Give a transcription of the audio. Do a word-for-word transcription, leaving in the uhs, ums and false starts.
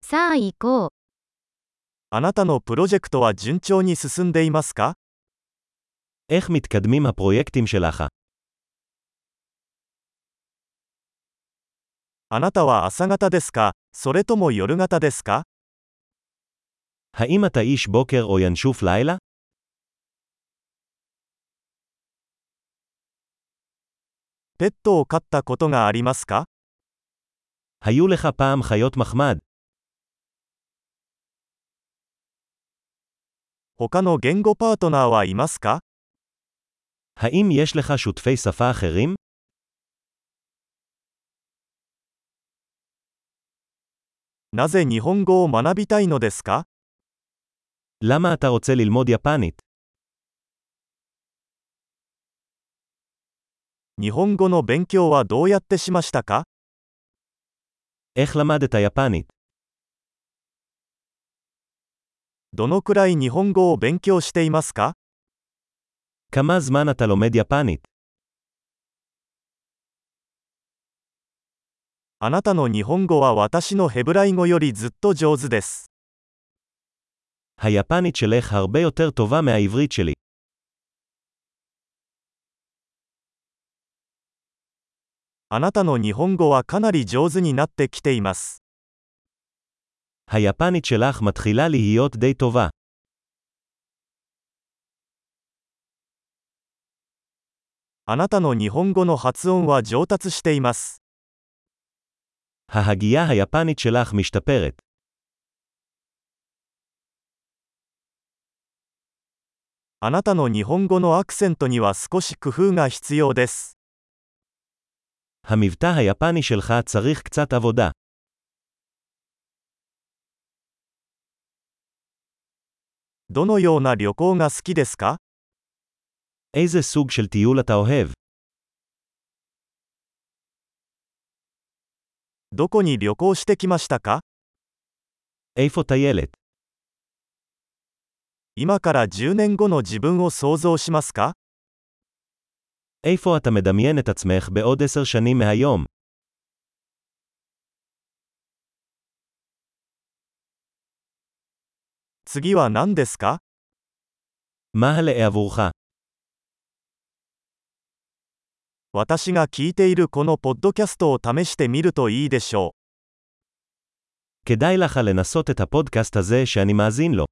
さあ行こう。 あなたのプロジェクトは順調に進んでいますか？ איך מתקדמים הפרויקטים שלך? あなたは朝型ですか、それとも夜型ですか？ האם אתה איש בוקר או ינשוף לילה? ペットを飼ったことがありますか？ היו לך פעם חיות מחמד? 他の言語パートナーはいますか？ האם יש לך שותפי שפה אחרים? なぜ日本語を学びたいのですか？ למה אתה רוצה ללמוד יפנית? 日本語の勉強はどうやってしましたか？ איך למדת יפנית? どのくらい日本語を勉強していますか？ כמה זמן אתה לומד יפנית? あなたの日本語は私のヘブライ語よりずっと上手です。 היפנית שלך הרבה יותר טובה מהעברית שלי. あなたの日本語はかなり上手になってきています。 היפנית שלך מתחילה להיות די טובה. あなたの日本語の発音は上達しています。 ההגייה היפנית שלך משתפרת. あなたの日本語のアクセントには少し工夫が必要です。 המבטא היפני שלך צריך קצת עבודה. どのような旅行が好きですか？ איזה סוג של טיול אתה אוהב? どこに旅行してきましたか？ איפה טיילת? 今からじゅうねんごの自分を想像しますか？ איפה אתה מדמיין את עצמך בעוד עשר שנים מהיום? 次は何ですか？ מה הלאה עבורך? 私が聞いているこのポッドキャストを試してみるといいでしょう。 כדאי לך לנסות את הפודקאסט הזה שאני מאזין לו.